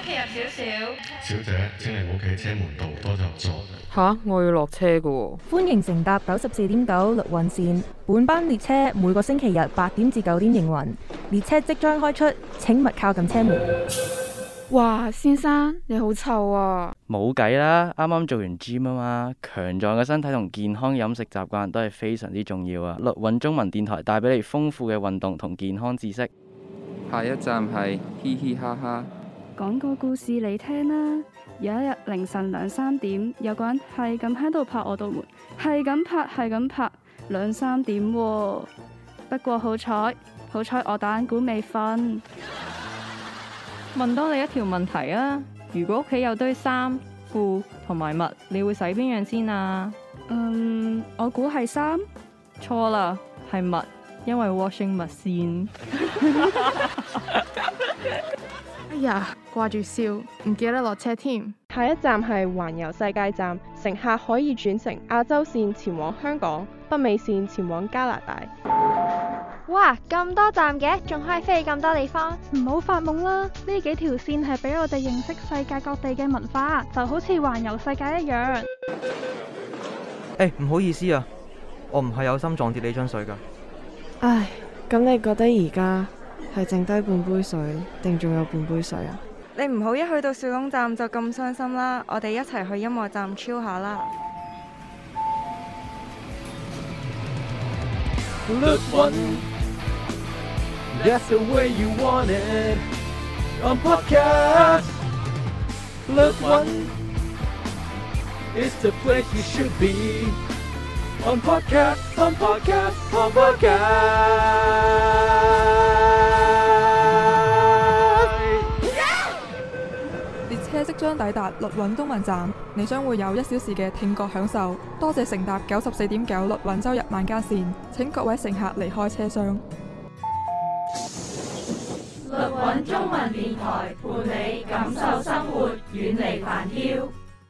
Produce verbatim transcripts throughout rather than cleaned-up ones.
企入少少。 小姐，請你唔好企車門度，多就座。 吓，我要落車㗎喎。 歡迎乘搭九十四點九綠運線，本班列車每個星期日八點至九點營運，列車即將開出，請勿靠近車門。 哇，先生你好臭啊！ 冇計啦，啱啱做完 gym 啊嘛，強壯嘅身體同健康飲食習慣都係非常之重要啊！綠韻中文電台帶俾你豐富嘅運動同健康知識。 下一站係嘻嘻哈哈。 講個故事你聽啦。有一日凌晨兩三點，有個人係咁喺度拍我道門，係咁拍係咁拍，兩三點喎。不過好彩，好彩我打緊鼓未瞓。 問多你一條問題啊！如果屋企有堆衫、褲同埋襪，你會洗邊樣先啊？ 嗯，我估係衫。 錯啦，係襪，因為 washing machine。 哎呀，掛住笑，唔記得落車添。 下一站係環遊世界站，乘客可以轉乘亞洲線前往香港，北美線前往加拿大。 哇，咁多站嘅，仲可以飛去咁多地方。 唔好發夢啦，呢幾條線係俾我哋認識世界各地嘅文化，就好似環遊世界一樣。 誒，唔好意思啊，我唔係有心撞跌你樽水噶。 唉，咁你覺得而家係剩低半杯水，定仲有半杯水啊？ 你唔好一去到小龍站就咁傷心啦，我哋一齊去音樂站 chill 下啦。 That's the way you want it. On podcast, Look One is the place you should be. On podcast, on podcast, on podcast. 列車即將抵達綠韻中文站，你將會有一小時嘅聽覺享受。多謝乘搭九十四點九綠韻周日晚間線，請各位乘客離開車廂。 綠韻中文電台伴你感受生活，遠離煩囂。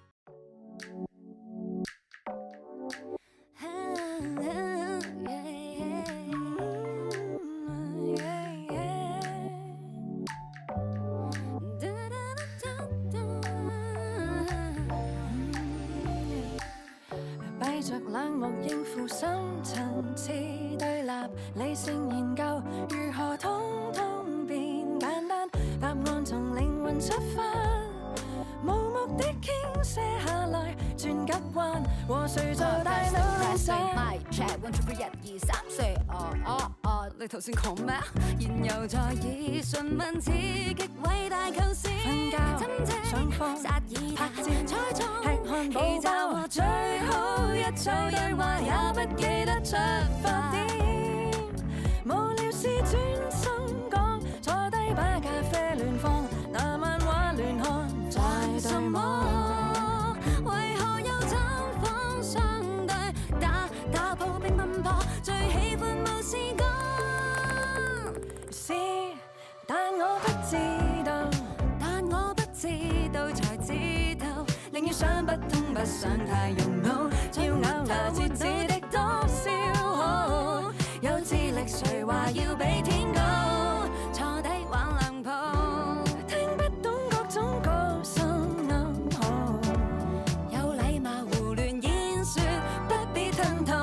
閉着冷漠應付深層次對立，理性研究如何通通變簡單，答案從靈魂出發，無目的傾瀉下來，轉急彎，和誰做大腦細？My check one two three 一二三四，哦哦哦，你頭先講咩？然後再以詢問刺激偉大構思，瞓覺、上課、拍照、猜錯、吃漢堡包和最好一組對話，也不記得出發點，無聊事專心講，坐低把咖啡亂放，那漫畫亂看，在什麼？為何又找訪相對？打打抱並奔波，最喜歡無事講。是，但我不知道，但我不知道才知道，寧願想不通不想太用腦，要咬牙切齒的多消耗，有智力誰話要比天高？坐低玩兩鋪，聽不懂各種高深暗號，有禮貌胡亂演說，不必吞吐。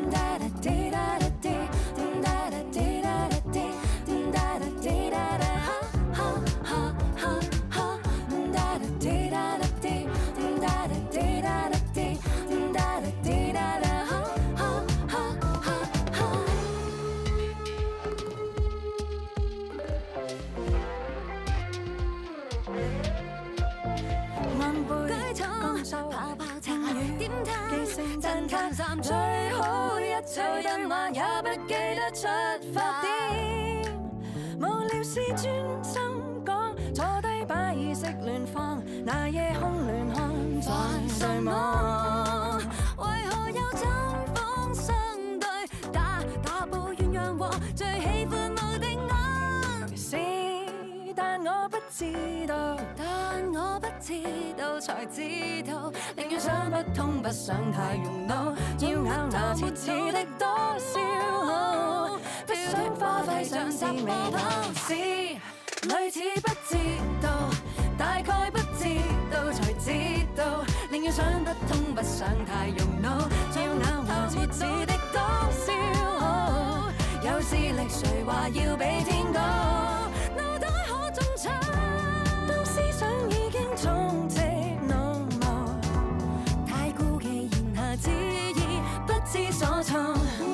最好一組燈話也不記得出發點，無聊事專心講，坐低把意識亂放，那夜空亂看在誰望？為何有針鋒相對，打打抱怨讓和，最喜歡無定案。是，但我不知道，但我不知道才知道，寧願想不通不想太用腦，要咬牙切齒的多消耗，不想花費上是未透視，類似不知道。 大概不知道才知道，寧願想不通不想太用腦，要咬牙切齒的多少，有視力誰話要比天高，腦袋可中槍，當思想已經充斥腦霧，太顧忌言下之意不知所措。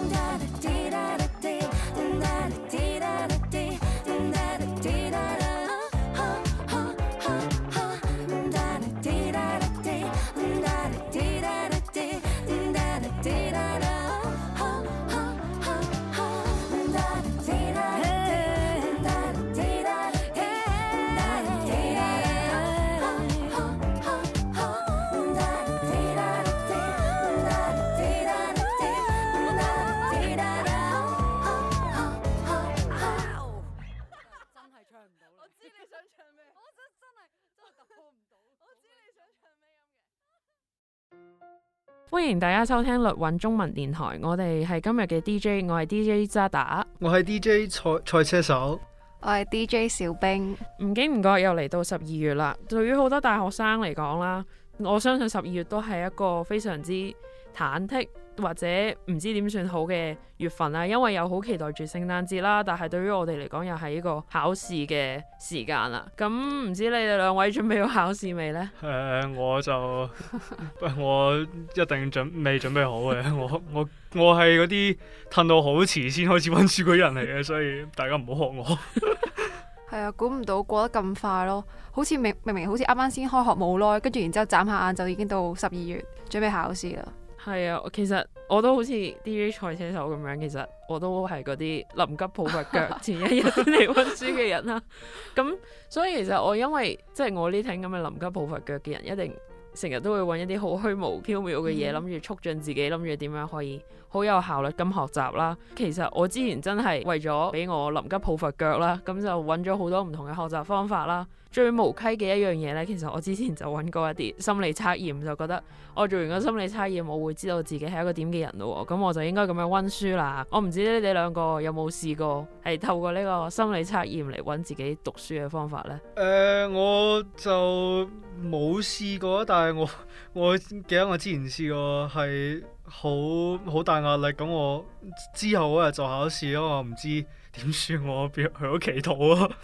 歡迎大家收聽律韻中文電台，我哋係今日嘅 D J， 我係 D J 渣打， 我係 D J 賽賽車手， 我係 D J 小冰。 唔經唔覺又嚟到十二月啦，對於好多大學生嚟講啦，我相信十二月都係一個非常之忐忑或者唔知點算好嘅月份啦，因為又好期待住聖誕節啦，但係對於我哋嚟講又係一個考試嘅時間啦。咁唔知你哋兩位準備好考試未呢？ 誒、呃，我就我一定準未準備好嘅，我我我係嗰啲褪到好遲先開始溫書嗰人嚟嘅，所以大家唔好學我。 係啊，估唔到過得咁快咯，好似明明明好似啱啱先開學冇耐，跟住然之後眨下眼就已經到十二月準備考試啦。 係啊，其實我都好似 D J 賽車手咁樣，其實我都係嗰啲臨急抱佛腳前一日先嚟溫書嘅人啦。咁所以其實我因為即係、就是、我呢挺咁嘅臨急抱佛腳嘅人，一定成日都會揾一啲好虛無縹緲嘅嘢，諗住、嗯、促進自己，諗住點樣可以好有效率咁學習啦。其實我之前真係為咗俾我臨急抱佛腳啦，咁就揾咗好多唔同嘅學習方法啦。最無稽嘅一樣嘢呢，其實我之前就揾過一啲心理測驗，就覺得我做完個心理測驗，我會知道自己係一個點嘅人咯。咁我就應該咁樣溫書啦。我唔知你哋兩個有冇試過係透過呢個心理測驗嚟揾自己讀書嘅方法呢？ 誒、呃，我就冇試過，但係我我記得我之前試過係好好大壓力，咁我之後嗰日就考試咯，我唔知點算，我變去咗祈禱啊。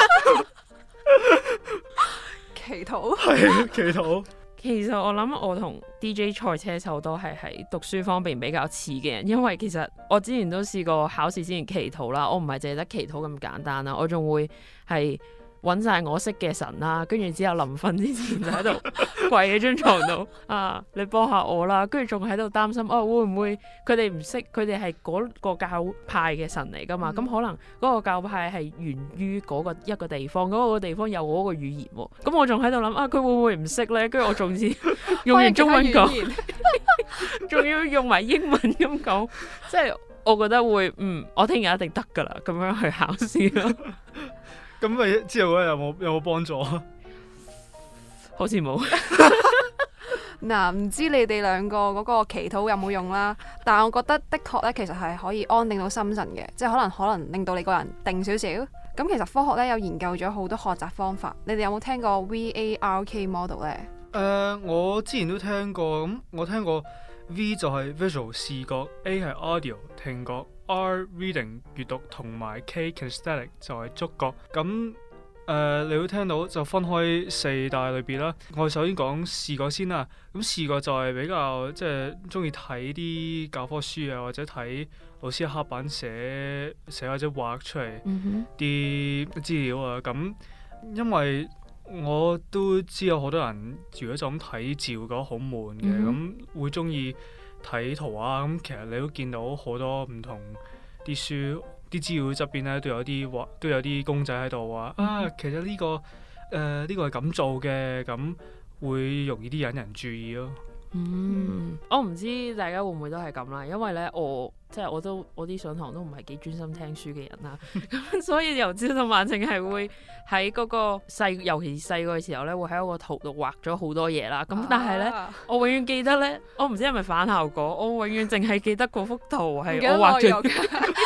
祈禱係祈禱。 其實我諗我同 D J 賽車手都係喺讀書方面比較似嘅人，因為其實我之前都試過考試之前祈禱啦，我唔係淨係得祈禱咁簡單啦，我仲會係揾晒我識嘅神啦，跟住之後臨瞓之前就喺度跪喺張床度啊，你幫下我啦，跟住仲喺度擔心哦，會唔會佢哋唔識，佢哋係嗰個教派嘅神嚟噶嘛，咁、嗯、可能嗰個教派係源於嗰個一個地方，嗰、嗰個地方有嗰個語言喎，咁我仲喺度諗啊，佢會唔會唔識呢？跟住我仲要用完中文講，仲要用埋英文咁講，即係我覺得會嗯，我聽日一定得噶啦，咁樣去考試咯。 咁咪之後嗰日有冇有冇幫助啊？ 好似冇。 嗱，唔知你哋兩個嗰個祈禱有冇用啦？但係我覺得的確咧，其實係可以安定到心神嘅，即係可能可能令到你個人定少少。咁其實科學咧有研究咗好多學習方法，你哋有冇聽過 V A R K model 咧？ 誒、呃，我之前都聽過，咁我聽過 V 就係 visual 視覺 ，A 係 audio 聽覺。R reading 閱讀同埋 K kinesthetic 就係觸覺，咁誒、呃、你會聽到就分開四大類別啦。我首先講視覺先啦，咁視覺就係比較即係中意睇啲教科書啊，或者睇老師黑板寫寫或者畫出嚟啲資料啊。咁因為我都知有好多人如果就咁睇照覺得好悶嘅，咁、mm hmm. 會中意睇圖啊，咁其實你都見到好多唔同啲書啲資料側邊咧都有啲畫，都有啲公仔喺度話啊，其實呢、呢個誒呢、呃呢個係咁做嘅，咁會容易啲引人注意咯。 嗯，我唔知大家會唔會都係咁啦，因為咧我即係我都我啲上堂都唔係幾專心聽書嘅人啦，咁所以由朝到晚淨係會喺嗰個細，尤其是細個嘅時候咧，會喺個圖度畫咗好多嘢啦。咁但係咧，啊、我永遠記得咧，我唔知係咪反效果，我永遠淨係記得嗰幅圖係我畫咗。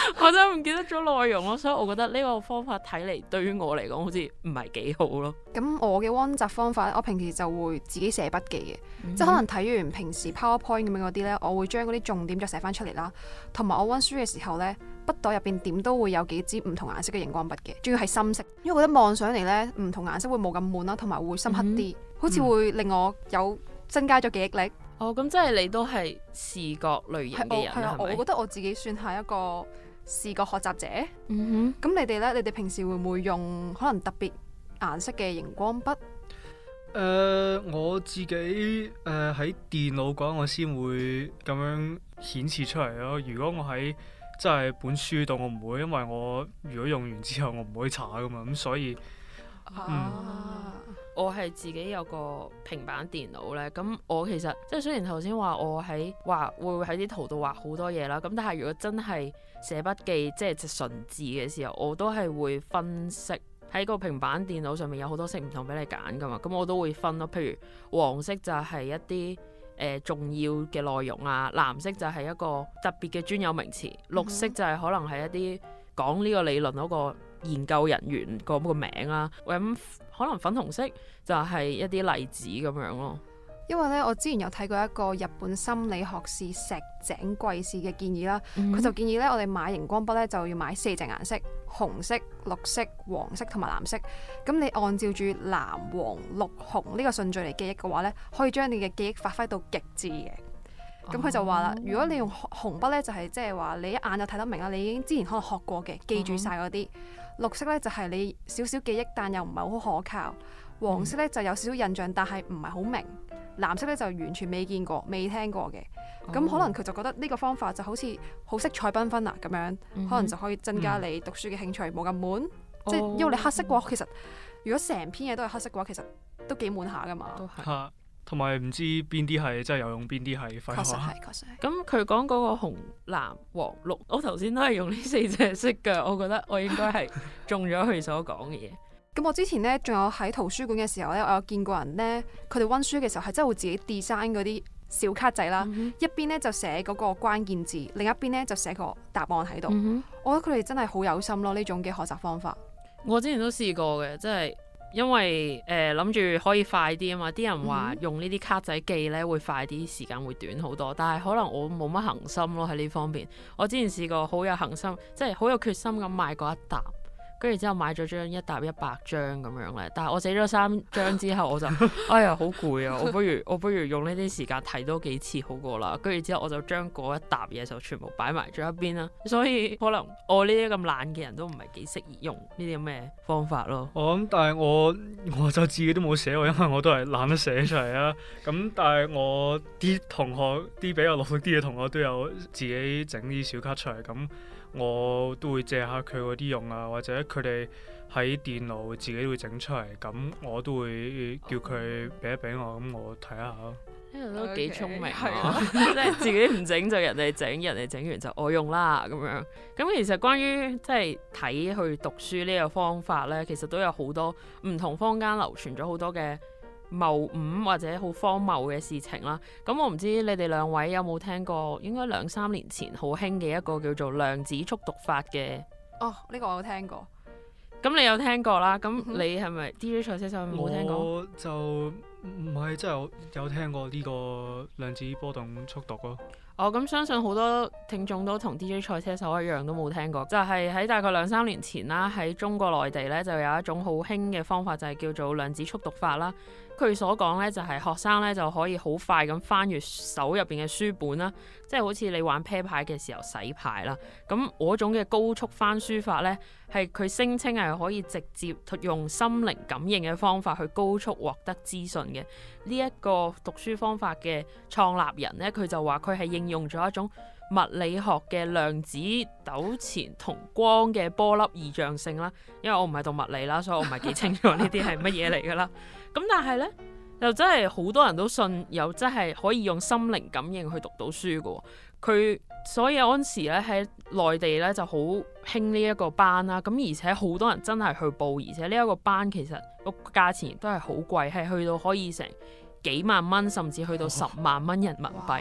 我真係唔記得咗內容咯，所以我覺得呢個方法睇嚟對於我嚟講好似唔係幾好咯。 咁我嘅溫習方法咧，我平時就會自己寫筆記嘅，嗯、即係可能睇完平時 PowerPoint 咁樣嗰啲咧，我會將嗰啲重點再寫翻出嚟啦。同埋我溫書嘅時候咧，筆袋入邊點都會有幾支唔同顏色嘅熒光筆嘅，仲要係深色，因為我覺得望上嚟咧唔同顏色會冇咁悶啦，同埋會深刻啲，嗯、好似會令我有增加咗記憶力。 哦，咁即係你都係視覺類型嘅人，係啊， 我覺得我自己算係一個視覺學習者。 嗯哼，咁你哋咧？你哋平時會唔會用可能特別顏色嘅熒光筆？誒、 呃，我自己誒喺、呃、電腦講，我先會咁樣顯示出嚟咯。如果我喺真係本書度，我唔會，因為我如果用完之後，我唔會查噶嘛。咁所以， 啊、嗯，我係自己有個平板電腦咧。咁我其實即係雖然頭先話我喺畫會喺啲圖度畫好多嘢啦。咁但係如果真係寫筆記，即係隻純字嘅時候，我都係會分色。喺個平板電腦上面有好多色唔同俾你揀噶嘛，咁我都會分咯。譬如黃色就係一啲誒、呃、重要嘅內容啊，藍色就係一個特別嘅專有名詞，綠色就係可能係一啲講呢個理論嗰個研究人員個個名啦。咁可能粉紅色就係一啲例子咁樣咯。 因為咧，我之前有睇過一個日本心理學士石井貴士嘅建議啦，佢、嗯、就建議咧，我哋買熒光筆咧就要買四隻顏色：紅色、綠色、黃色同埋藍色。咁你按照住藍、黃、綠、紅呢個順序嚟記憶嘅話咧，可以將你嘅記憶發揮到極致嘅。咁佢就話啦，如果你用紅筆咧，就係即係話你一眼就睇得明啦，你已經之前可能學過嘅，記住晒嗰啲。綠色咧就係你少少記憶，但又唔係好可靠。黃色咧就有少少印象，但係唔係好明。藍色咧就完全未見過、未聽過嘅。咁、oh. 可能佢就覺得呢個方法就好似好色彩繽紛啊咁樣，mm hmm. 可能就可以增加你讀書嘅興趣，冇咁悶。即係、oh. 因為你黑色嘅話，其實如果成篇嘢都係黑色嘅話，其實都幾悶下噶嘛。都係。 嚇，同埋唔知邊啲係真係有用，邊啲係廢話。確實係，確實係。 咁佢講嗰個紅、藍、黃、綠，我頭先都係用呢四隻色㗎，我覺得我應該係中咗佢所講嘅嘢。 咁我之前咧，仲有喺圖書館嘅時候咧，我有見過人咧，佢哋溫書嘅時候係真係會自己 design 嗰啲小卡仔啦，嗯、哼一邊咧就寫嗰個關鍵字，另一邊咧就寫個答案喺度。嗯、哼我覺得佢哋真係好有心咯，呢種嘅學習方法。 我之前都試過嘅，即係因為誒諗住可以快啲啊嘛，啲人話用呢啲卡仔記咧會快啲，時間會短好多。但係可能我冇乜恆心咯喺呢方面。我之前試過好有恆心，即係好有決心咁買過一沓。跟住之後買咗張一沓一百張咁樣咧，但係我寫咗三張之後我就哎呀好攰啊！我不如我不如用呢啲時間睇多幾次好過啦。跟住之後我就將嗰一沓嘢就全部擺埋咗一邊啦。所以可能我呢啲咁懶嘅人都唔係幾適宜用呢啲咁嘅方法咯。 我諗、哦，但係我我就自己都冇寫喎，因為我都係懶得寫出嚟啊。咁但係我啲同學啲比較努力啲嘅同學都有自己整啲小卡出嚟咁。我都會借下佢嗰啲用啊，或者佢哋喺電腦自己會整出嚟，咁我都會叫佢俾一俾我，咁我睇下咯。 呢個都幾聰明啊！即係自己唔整就人哋整，人哋整完就我用啦咁樣。咁其實關於即係睇去讀書呢個方法咧，其實都有好多唔同坊間流傳咗好多嘅謬誤或者好荒謬嘅事情啦，咁我唔知你哋兩位有冇聽過，應該兩三年前好興嘅一個叫做量子速讀法嘅。 哦，呢、這個我有聽過。 咁你有聽過啦？咁你係咪 D J 賽車手冇聽過？ 我就唔係真係有有聽過呢個量子波動速讀咯。 哦，咁相信好多聽眾都同 D J 賽車手一樣都冇聽過，就係、是、喺大概兩三年前啦，喺中國內地咧就有一種好興嘅方法，就係、是、叫做量子速讀法啦。佢所講咧就係、是、學生咧就可以好快咁翻閱手入邊嘅書本啦，即係好似你玩啤牌嘅時候洗牌啦。咁嗰種嘅高速翻書法咧，係佢聲稱係可以直接用心靈感應嘅方法去高速獲得資訊嘅。呢、這、一個讀書方法嘅創立人咧，佢就話佢係應用咗一種物理學嘅量子糾纏同光嘅波粒異象性啦。因為我唔係讀物理啦，所以我唔係幾清楚呢啲係乜嘢嚟噶啦。咁但係咧，又真係好多人都信，又真係可以用心靈感應去讀到書嘅。佢所以嗰陣時咧喺內地咧就好興呢一個班啦。咁而且好多人真係去報，而且呢一個班其實個價錢亦都係好貴，係去到可以成幾萬蚊，甚至去到十萬蚊人民幣。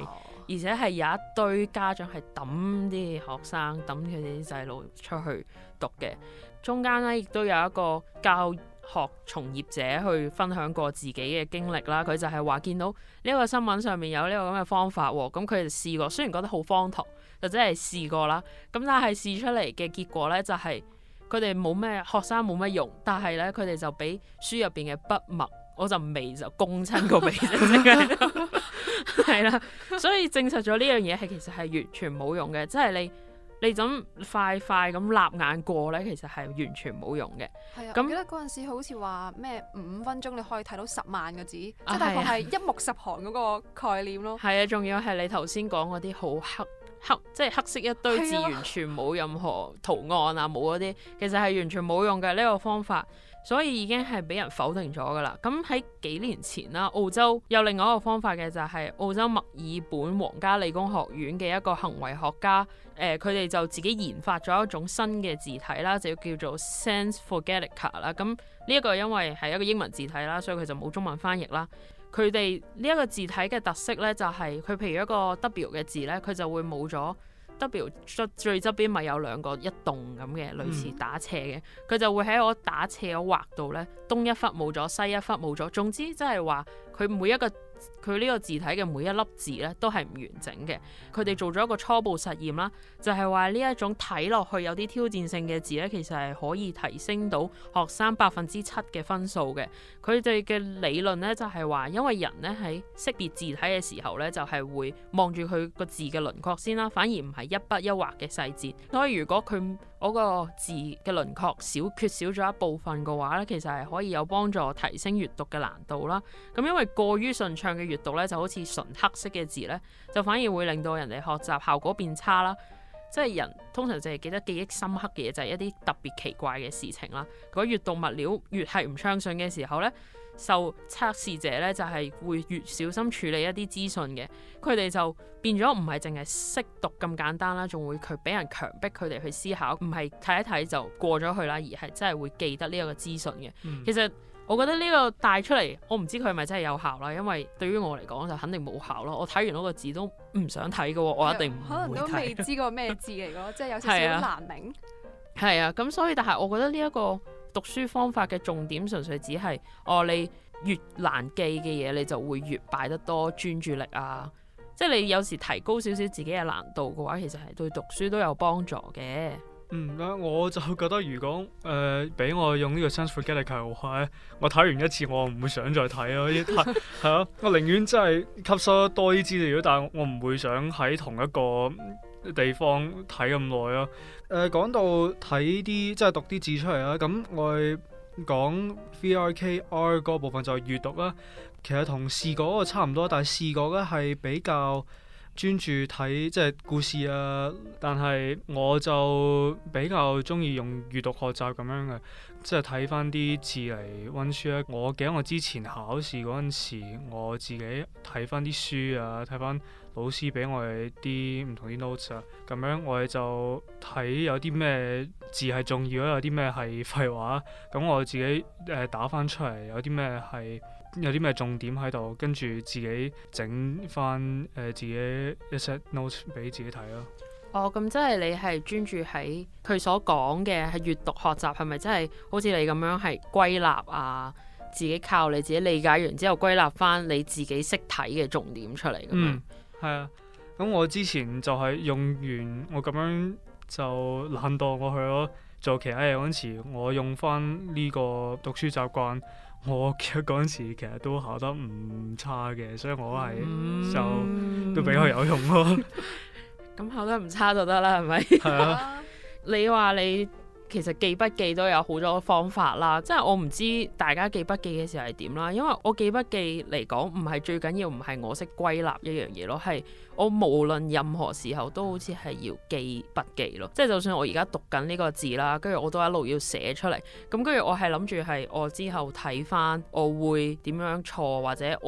而且係有一堆家長係抌啲學生抌佢哋啲細路出去讀嘅。中間咧亦都有一個教學從業者去分享過自己嘅經歷啦。佢就係話見到呢個新聞上面有呢個咁嘅方法喎，咁佢哋試過，雖然覺得好荒唐，就真係試過啦。咁但係試出嚟嘅結果咧就係佢哋冇咩學生冇乜用，但係咧佢哋就俾書入邊嘅筆墨，我就眉就攻親個鼻啫，係啦。所以證實咗呢樣嘢係其實係完全冇用嘅，即係你。你就咁快快咁擸眼過咧，其實係完全冇用嘅。 係啊， 咁我記得嗰陣時好似話咩五分鐘你可以睇到十萬個字， 啊、 即係大概係一目十行嗰個概念咯。 係啊，仲要係你頭先講嗰啲好黑黑，即係黑色一堆字，完全冇任何圖案啊，冇嗰啲，其實係完全冇用嘅呢個方法。所以已經係俾人否定咗㗎啦。咁喺幾年前啦，澳洲有另外一個方法嘅就係澳洲墨爾本皇家理工學院嘅一個行為學家，誒佢哋就自己研發咗一種新嘅字體啦，就叫做 Sans Fogaltica 啦。咁呢一個因為係一個英文字體啦，所以佢就冇中文翻譯啦。佢哋呢一個字體嘅特色咧，就係佢譬如一個 W 嘅字咧，佢就會冇咗。W 最側邊咪有兩個一棟咁嘅類似打斜嘅，佢、嗯、就會喺我打斜嗰畫度咧，東一忽冇咗，西一忽冇咗。總之即係話佢每一個佢呢個字體嘅每一粒字咧都係唔完整嘅。佢哋做咗一個初步實驗啦，就係話呢一種睇落去有啲挑戰性嘅字咧，其實係可以提升到學生百分之七嘅分數嘅。佢哋嘅理論咧就係話，因為人咧喺識別字體嘅時候咧，就係會望住佢個字嘅輪廓先啦，反而唔係一筆一畫嘅細節。所以如果佢嗰個字嘅輪廓少缺少咗一部分嘅話咧，其實係可以有幫助提升閱讀嘅難度啦。咁因為過於順暢嘅閱讀咧，就好似純黑色嘅字咧，就反而會令到人哋學習效果變差啦。即係人通常就係記得記憶深刻嘅嘢，就係一啲特別奇怪嘅事情啦。如果閱讀物料越係唔暢順嘅時候咧，受測試者咧就係會越小心處理一啲資訊嘅。佢哋就變咗唔係淨係識讀咁簡單啦，仲會佢俾人強迫佢哋去思考，唔係睇一睇就過咗去啦，而係真係會記得呢一個資訊嘅。嗯、其實我覺得呢個帶出嚟，我唔知佢係咪真係有效啦，因為對於我嚟講就肯定冇效咯。我睇完嗰個字都唔想睇嘅，我一定唔會睇。 可能都未知個咩字嚟嘅，即係有少少難明。 係啊，咁、啊、所以但係我覺得呢一個讀書方法嘅重點，純粹只係哦，你越難記嘅嘢，你就會越擺得多專注力啊。即係你有時提高少少自己嘅難度嘅話，其實係對讀書都有幫助嘅。 嗯，我就覺得如果誒俾、呃、我用呢個 Sans Fogaltica嘅話，我睇完一次我唔會想再睇咯，係係啊，我寧願真係吸收多啲資料，但係我唔會想喺同一個地方睇咁耐咯。誒、呃、講到睇啲即係讀啲字出嚟啦，咁我哋講 V R K R 嗰部分就係閱讀啦，其實同視覺嗰個差唔多，但係視覺咧係比較專注睇即係故事啊，但係我就比較中意用閱讀學習咁樣嘅，即係睇翻啲字嚟溫書咧。我記得我之前考試嗰陣時，我自己睇翻啲書啊，睇翻老師俾我哋啲唔同啲 notes 啊，咁樣我哋就睇有啲咩字係重要，有啲咩係廢話，咁我自己誒、呃、打翻出嚟，有啲咩係有啲咩重點喺度，跟住自己整翻誒自己一 set notes 俾自己睇咯。 哦，咁即係你係專注喺佢所講嘅係閱讀學習，係咪真係好似你咁樣係歸納啊？自己靠你自己理解完之後歸納翻你自己識睇嘅重點出嚟咁樣。 嗯，係啊。咁我之前就係用完我咁樣就懶惰過去咯，做其他嘢嗰陣時，我用翻呢個讀書習慣。我記得嗰陣時其實都考得唔差嘅，所以我係、嗯、就都比較有用咯。 咁考得唔差就得啦，係咪？係啊。你話你其實記筆記都有好多方法啦，即係我唔知大家記筆記嘅時候係點啦。因為我記筆記嚟講，唔係最緊要，唔係我識歸納一樣嘢咯，係我無論任何時候都好似係要記筆記咯。即係就算我而家讀緊呢個字啦，跟住我都一路要寫出嚟。咁跟住我係諗住係我之後睇翻，我會點樣錯，或者我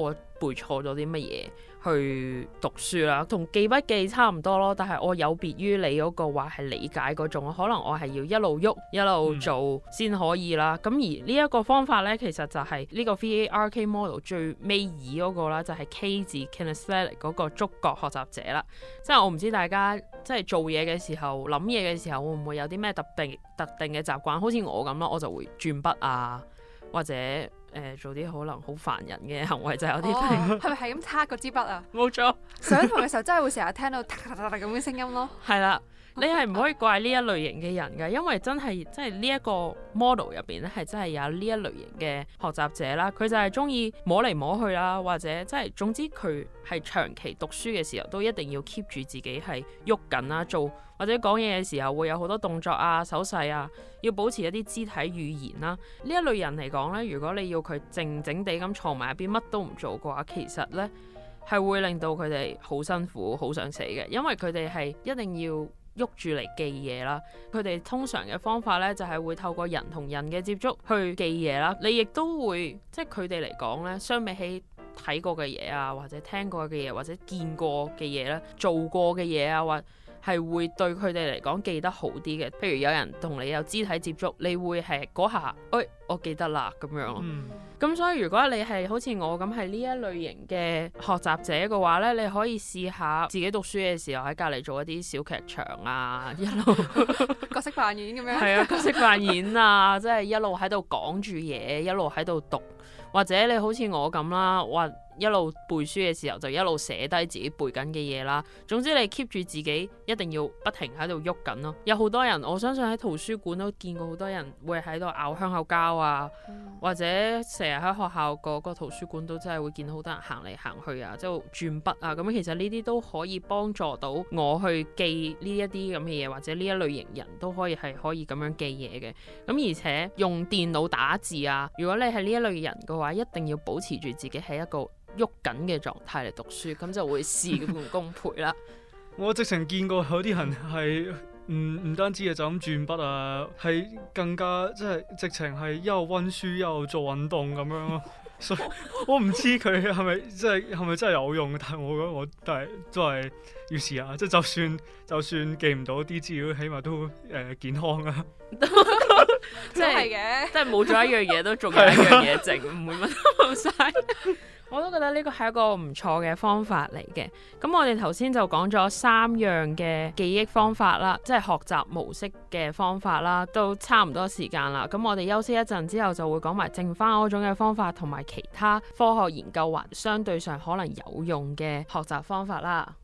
背錯咗啲乜嘢去讀書啦，同記筆記差唔多咯。但係我有別於你嗰個話係理解嗰種，可能我係要一路喐一路做先可以啦。咁、嗯、而呢一個方法咧，其實就係呢個 V A R K model 最尾二嗰個啦，就係、是、K 字 Kinesthetic 嗰個觸覺學習者啦。即係我唔知大家即係做嘢嘅時候、諗嘢嘅時候，會唔會有啲咩特定特定嘅習慣？好似我咁咯，我就會轉筆啊，或者誒、呃、做啲可能好煩人嘅行為，就係、有啲係咪係咁擦嗰支筆啊？ 冇錯， 上堂嘅時候真係會成日聽到嗒嗒嗒嗒咁嘅聲音咯。 係啦。你係唔可以怪呢一類型嘅人㗎，因為真係即係呢一個 model 入邊咧，係真係有呢一類型嘅學習者啦。佢就係中意摸嚟摸去啦，或者即係總之佢係長期讀書嘅時候都一定要 keep 住自己係喐緊啦，做或者講嘢嘅時候會有好多動作啊、手勢啊，要保持一啲肢體語言啦。呢一類人嚟講咧，如果你要佢靜靜地咁坐埋一邊，乜都唔做嘅話，其實咧係會令到佢哋好辛苦、好想死嘅，因為佢哋係一定要喐住嚟記嘢啦，佢哋通常嘅方法咧就係會透過人同人嘅接觸去記嘢啦。你亦都會即係佢哋嚟講咧，相比起睇過嘅嘢啊，或者聽過嘅嘢，或者見過嘅嘢咧，做過嘅嘢啊，或係會對佢哋嚟講記得好啲嘅。譬如有人同你有肢體接觸，你會係嗰下，哎，我記得啦咁樣咯。咁、嗯、所以如果你係好似我咁係呢一類型嘅學習者嘅話咧，你可以試下自己讀書嘅時候喺隔離做一啲小劇場啊，一路角色扮演咁樣。 係啊，角色扮演啊，即係一路喺度講住嘢，一路喺度讀，或者你好似我咁啦，或一路背書嘅時候就一路寫低自己背緊嘅嘢啦。總之你 keep 住自己一定要不停喺度喐緊咯。有好多人，我相信喺圖書館都見過好多人會喺度咬香口膠啊，嗯、或者成日喺學校個個圖書館都真係會見到好多人行嚟行去啊，即係轉筆啊。咁其實呢啲都可以幫助到我去記呢一啲咁嘅嘢，或者呢一類型人都可以係可以咁樣記嘢嘅。咁而且用電腦打字啊，如果你係呢一類人嘅話，一定要保持住自己係一個喐緊嘅狀態嚟讀書，咁就會事半功倍啦。 我直情見過有啲人係唔唔單止係就咁轉筆啊，係更加即係直情係一路溫書一路做運動咁樣咯。所以我唔知佢係咪即係係咪真係有用，但係我覺得我都係都係要試下，即係就算就算記唔到啲資料，起碼都誒、呃、健康啊。 即係嘅，即係冇咗一樣嘢都仲有一樣嘢剩，唔會乜都冇晒。我都覺得呢個係一個唔錯嘅方法嚟嘅。咁我哋頭先就講咗三樣嘅記憶方法啦，即係學習模式嘅方法啦，都差唔多時間啦。咁我哋休息一陣之後就會講埋剩翻嗰種嘅方法，同埋其他科學研究還相對上可能有用嘅學習方法啦。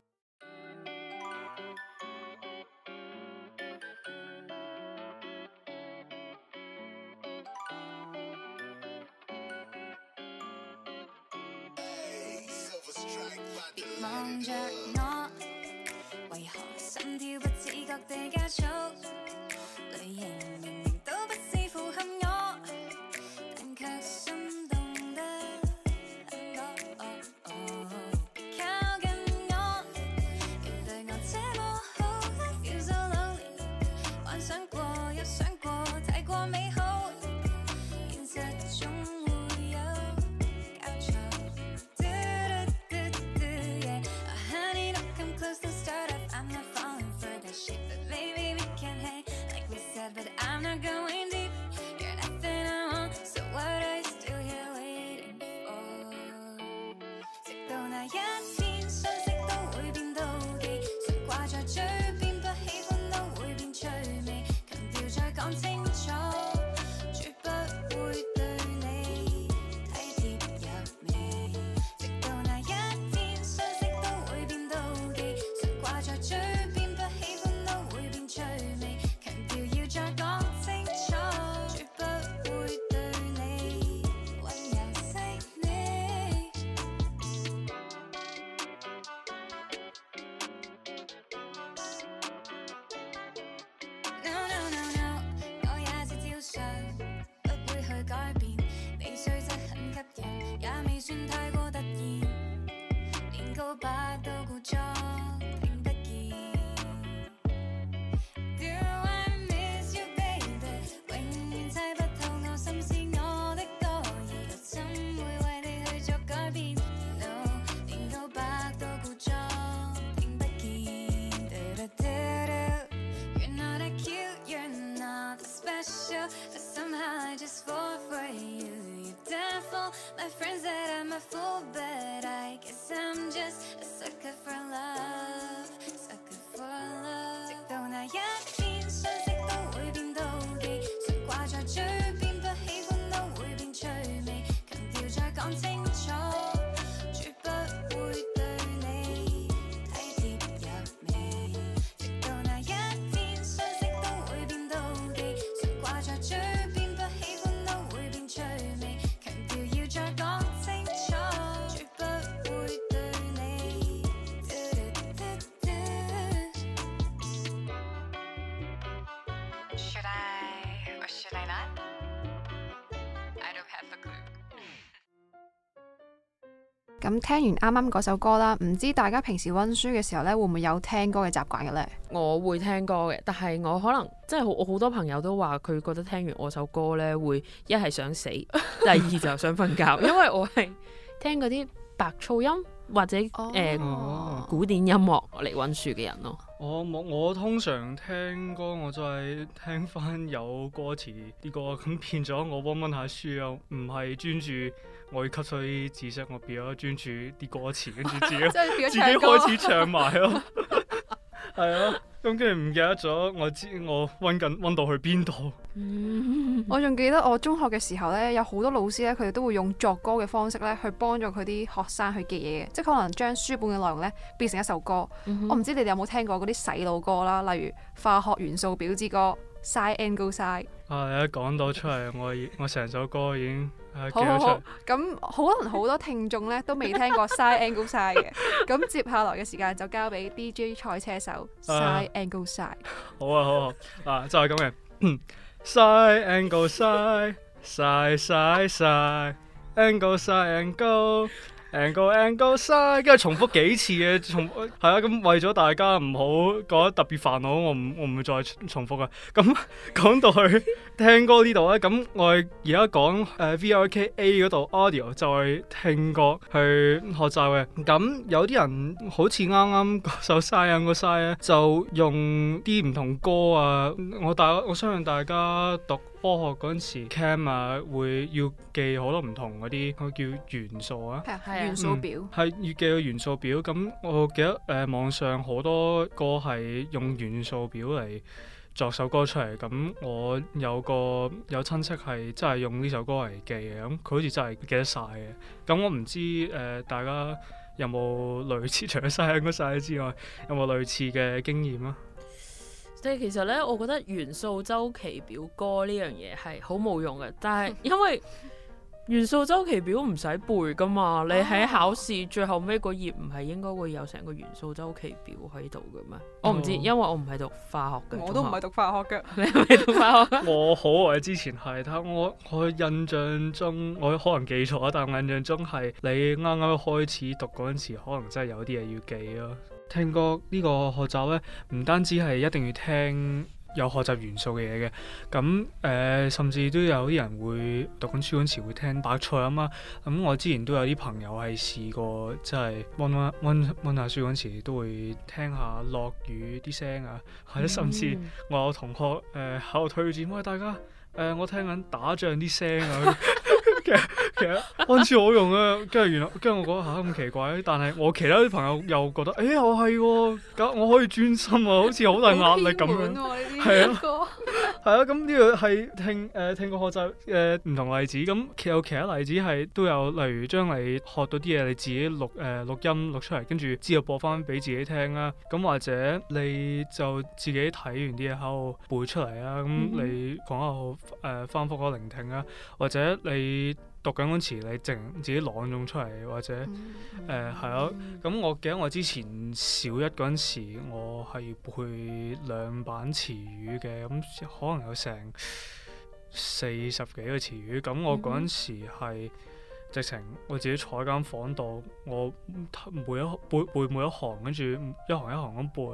望着我，為何心跳不自覺地加速？類型明明都不是符合我，但卻心動得很多。靠近我，原對我這麼好 ，I feel so lonely。幻想過又想過，太過美好，現實中會有交錯。But I'm not going deep. You're nothing I want. So what are you still here waiting for? 直到那一天，相識都會變妒忌，常掛在嘴邊，不喜歡都會變趣味。強調再講清楚，絕不會對你體貼入微。直到那一天，相識都會變妒忌，常掛在嘴邊，不喜歡都會變趣味。再講清楚，絕不會對你溫柔細膩。No no no no， 我也是照常，不會去改變。你雖則很吸引，也未算太過突然，連告白都故作聽不見。猜不透我心思，我的多疑，怎會為你去作改變 ？No a fool, but I guess I'm just a sucker for love, sucker for love。直到那一天，相識都會變妒忌，想掛在嘴邊，不喜歡都會變趣味，強調再講清楚，絕不會對你體貼入微。直到那一天，相識都會變妒忌，想掛在嘴邊，不喜歡都會變趣味，強調要再講清楚，絕不會對你。Should I or should I not? I don't have a clue。 咁聽完啱啱嗰首歌啦，唔知大家平時温書嘅時候咧，會唔會有聽歌嘅習慣嘅咧？ 我會聽歌嘅，但係我可能即係我好多朋友都話佢覺得聽完我首歌咧，會一係想死，第二就想瞓覺，因為我係聽嗰啲白噪音或者誒、 哦呃、古典音樂嚟温書嘅人咯。 我我我通常聽歌，我就係聽翻有歌詞啲歌，咁變咗我温温下書又唔係專注我要吸收啲知識，我變咗專注啲歌詞，跟住自己自己開始唱埋咯，係啊，咁跟住唔記得咗我知我温緊温到去邊度。 我仲記得我中學嘅時候咧，有好多老師咧，佢哋都會用作歌嘅方式咧，去幫助佢啲學生去記嘢嘅，即係可能將書本嘅內容咧變成一首歌。嗯、我唔知你哋有冇聽過嗰啲洗腦歌啦，例如化學元素表之歌 Psi and Go Psi。啊， 你一講到出嚟，我我成首歌已經誒記咗出嚟。 咗出嚟。 咁可能好多聽眾咧都未聽過 Psi and Go Psi 嘅，咁接下來嘅時間就交俾 D J 賽車手 Psi and Go Psi。 好啊好啊，啊就係咁嘅。Psi and go psi, psi psi psi, and go psi and go, and go and go psi， 跟住重複幾次嘅，重係啊，咁為咗大家唔好覺得特別煩惱，我唔我唔會再重複啊。咁講到去聽歌呢度咧，咁我而家講誒 V R K A 嗰度 audio 就係聽歌去學習嘅。咁有啲人好似啱啱嗰首 Psi and Go Psi咧，就用啲唔同歌啊。我大我相信大家讀科學嗰陣時 ，cam 啊會要記好多唔同嗰啲，嗰叫元素啊， 元素表係、嗯、要記個元素表。咁我記得誒、呃、網上好多歌係用元素表嚟作首歌出嚟。咁我有個有親戚係真係用呢首歌嚟記嘅，咁佢好似真係記得晒嘅。咁我唔知誒、呃、大家有冇類似除咗Psi and Go Psi之外，有冇類似嘅經驗啊？ 即係其實咧，我覺得元素週期表歌呢樣嘢係好冇用嘅，但係因為元素週期表唔使背噶嘛，你喺考試最後尾嗰頁唔係應該會有成個元素週期表喺度嘅咩？哦、我唔知，因為我唔係讀化學嘅。 我都唔係讀化學嘅。 你係咪讀化學？ 我好耐之前係，但我我印象中我可能記錯，但我印象中係你啱啱開始讀嗰陣時，可能真係有啲嘢要記咯。聽歌呢個學習呢，唔單止係一定要聽有學習元素嘅嘢嘅，咁誒、呃、甚至都有啲人會讀緊書嗰陣時會聽白噪音啊。咁我之前都有啲朋友係試過，即係温温温温下書嗰陣時都會聽下落雨啲聲啊，或者甚至我有同學誒喺度推薦，喂大家誒、呃、我聽緊打仗啲聲啊。其實其實温書好用啊，跟住原來跟住我覺得嚇咁奇怪，但係我其他啲朋友又覺得，誒、欸、我係喎，咁我可以專心啊，好似好大壓力咁樣，係啊，係啊，咁呢個係聽誒、呃、聽過學習誒唔同例子，咁有其他例子係都有，例如將你學到啲嘢你自己錄誒、呃、錄音錄出嚟，跟住之後播翻俾自己聽啦，咁或者你就自己睇完啲嘢喺度背出嚟啊，咁你講下好誒翻覆嗰聆聽啊，或者你讀緊嗰詞，你淨自己朗誦出嚟，或者誒係咯。咁、呃、我記得我之前小一嗰陣時，我係背兩版詞語嘅，咁可能有成四十幾個詞語。咁我嗰陣時係直情我自己坐喺間房度，我每一背背每一行，跟住一行一行咁背。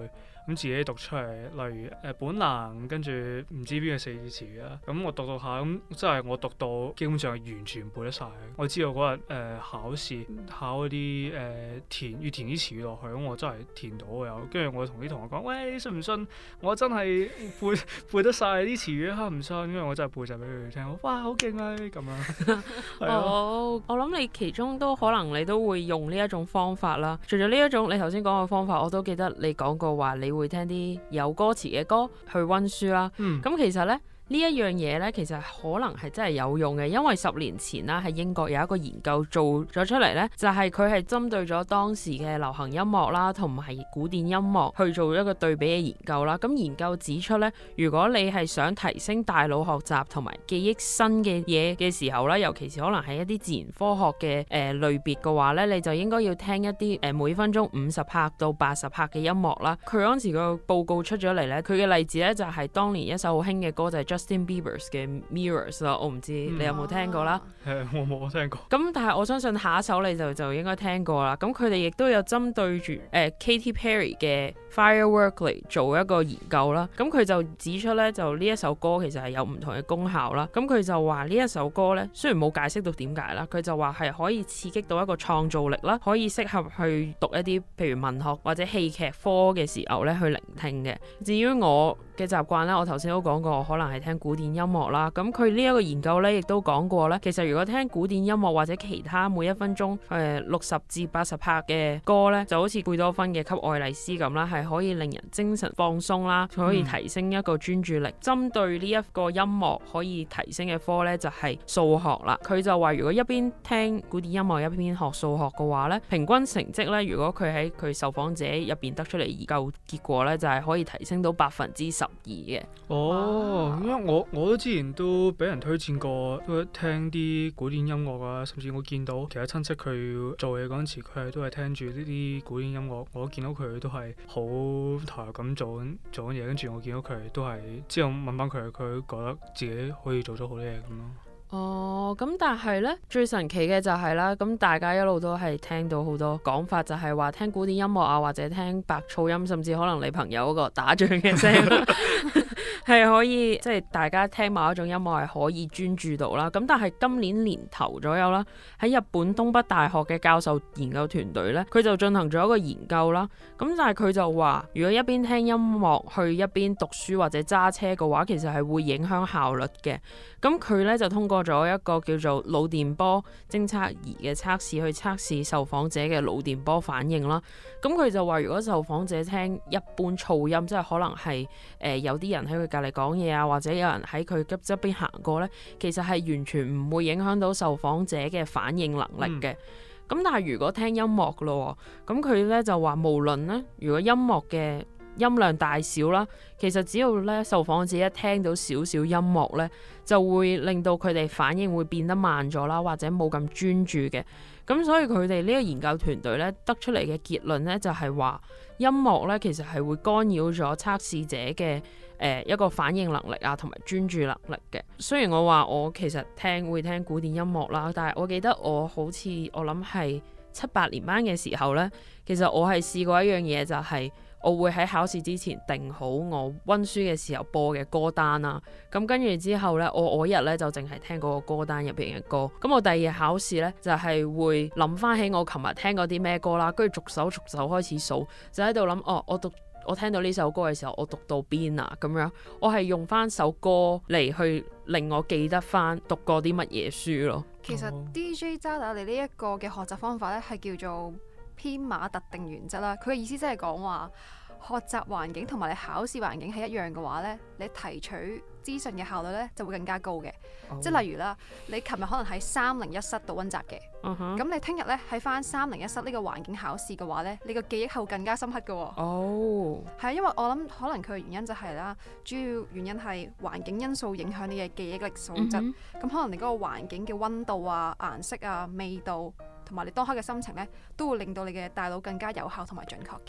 咁自己讀出嚟，例如誒、呃、本能，跟住唔知邊個四字詞啦。咁我讀讀下，咁即係我讀到基本上係完全背得晒。我知道嗰日誒考試考嗰啲誒填要填啲詞語落去，咁我真係填到嘅有。跟住我同啲同學講：喂，信唔信我真係背背得晒啲詞語啊？唔信，因為我真係背晒俾佢哋聽。哇，好勁啊！咁樣。 哦，我諗你其中都可能你都會用呢一種方法啦。除咗呢一種你頭先講嘅方法，我都記得你講過話，你會聽啲有歌詞嘅歌去溫書啦。咁、嗯、其實呢。呢一樣嘢呢，其實可能係真係有用嘅，因為十年前啦，喺英國有一個研究做咗出嚟呢，就係佢係針對咗當時嘅流行音樂啦，同埋古典音樂去做一個對比嘅研究啦。咁研究指出呢，如果你係想提升大腦學習同埋記憶新嘅嘢嘅時候呢，尤其是可能係一啲自然科學嘅誒、呃、類別嘅話呢，你就應該要聽一啲誒、呃、每分鐘五十拍到八十拍嘅音樂啦。佢嗰陣時個報告出咗嚟呢，佢嘅例子呢，就係、是、當年一首好興嘅歌就係、是Justin Bieber 嘅 Mirrors 啦，我唔知你有冇聽過啦。 係、嗯，我冇聽過。 咁但係我相信下一首你就就應該聽過啦。咁佢哋亦都有針對住誒、呃、Katy Perry 嘅 Firework 嚟做一個研究啦。咁佢就指出咧，就呢一首歌其實係有唔同嘅功效啦。咁佢就話呢一首歌咧，雖然冇解釋到點解啦，佢就話係可以刺激到一個創造力啦，可以適合去讀一啲譬如文學或者戲劇科嘅時候咧去聆聽嘅。至於我嘅習慣咧，我頭先都講過，可能係聽古典音樂啦。咁佢呢一個研究咧，亦都講過咧，其實如果聽古典音樂或者其他每一分鐘誒六十至八十拍嘅歌咧，就好似貝多芬嘅《給愛麗絲》咁啦，係可以令人精神放鬆啦，可以提升一個專注力。針、嗯、對呢一個音樂可以提升嘅科咧，就係數學啦。佢就話如果一邊聽古典音樂一邊學數學嘅話咧，平均成績咧，如果佢喺佢受訪者入邊得出嚟研究結果咧，就係、是、可以提升到百分之十二嘅。 哦，因為我我都之前都俾人推薦過，都聽啲古典音樂啊，甚至我見到其他親戚佢做嘢嗰陣時，佢係都係聽住呢啲古典音樂，我都見到佢都係好投入咁做緊做緊嘢，跟住我見到佢都係之後問翻佢，佢覺得自己可以做咗好多嘢咁咯。 哦，咁但係呢，最神奇嘅就係、是、啦，咁大家一路都係聽到好多講法，就係話聽古典音樂啊，或者聽白噪音，甚至可能你朋友嗰個打仗嘅聲係可以，即、就、係、是、大家聽某一種音樂係可以專注到啦。咁但係今年年頭左右啦，喺日本東北大學嘅教授研究團隊呢，佢就進行咗一個研究啦。咁但係佢就話，如果一邊聽音樂去一邊讀書或者揸車嘅話，其實係會影響效率嘅。咁佢咧就通過咗一個叫做腦電波偵測儀嘅測試，去測試受訪者嘅腦電波反應啦。咁佢就話，如果受訪者聽一般噪音，即係可能係誒、呃、有啲人喺佢隔離講嘢啊，或者有人喺佢側側邊行過咧，其實係完全唔會影響到受訪者嘅反應能力嘅。咁、嗯、但係如果聽音樂嘅咯，咁佢咧就話無論咧，如果音樂嘅音量大小啦，其實只要咧受訪者一聽到少少音樂咧，就會令到佢哋反應會變得慢咗啦，或者冇咁專注嘅。咁所以佢哋呢個研究團隊咧得出嚟嘅結論咧，就係話音樂咧其實係會干擾咗測試者嘅誒、呃、一個反應能力啊，同埋專注能力嘅。雖然我話我其實聽會聽古典音樂啦，但係我記得我好似我諗係七八年班嘅時候咧，其實我係試過一樣嘢，就係、是我會喺考試之前定好我溫書嘅時候播嘅歌單啦，咁跟住之後呢，我我一日呢就淨係聽嗰個歌單入邊嘅歌，咁我第二日考試呢，就係、是、會諗翻起我琴日聽過啲咩歌啦，跟住逐首逐首開始數，就喺度諗哦，我讀我聽到呢首歌嘅時候，我讀到邊啊咁樣，我係用翻首歌嚟去令我記得翻讀過啲乜嘢書咯。 其實 D J 渣打你呢一個嘅學習方法呢，係叫做編碼特定原則啦，佢嘅意思即係講話學習環境同埋你考試環境係一樣嘅話呢，你提取資訊嘅效率呢就會更加高嘅。Oh. 即係例如啦，你琴日可能喺三零一室度溫習嘅，咁、uh-huh. 你聽日呢喺翻三零一室呢個環境考試嘅話呢，你個記憶係會更加深刻嘅。哦，係啊，因為我諗可能佢嘅原因就係、是、啦，主要原因係環境因素影響你嘅記憶力素質。咁、mm-hmm. 可能你嗰個環境嘅溫度啊、顏色啊、味道，同埋你當刻嘅心情呢，都會令到你嘅大腦更加有效同埋準確嘅。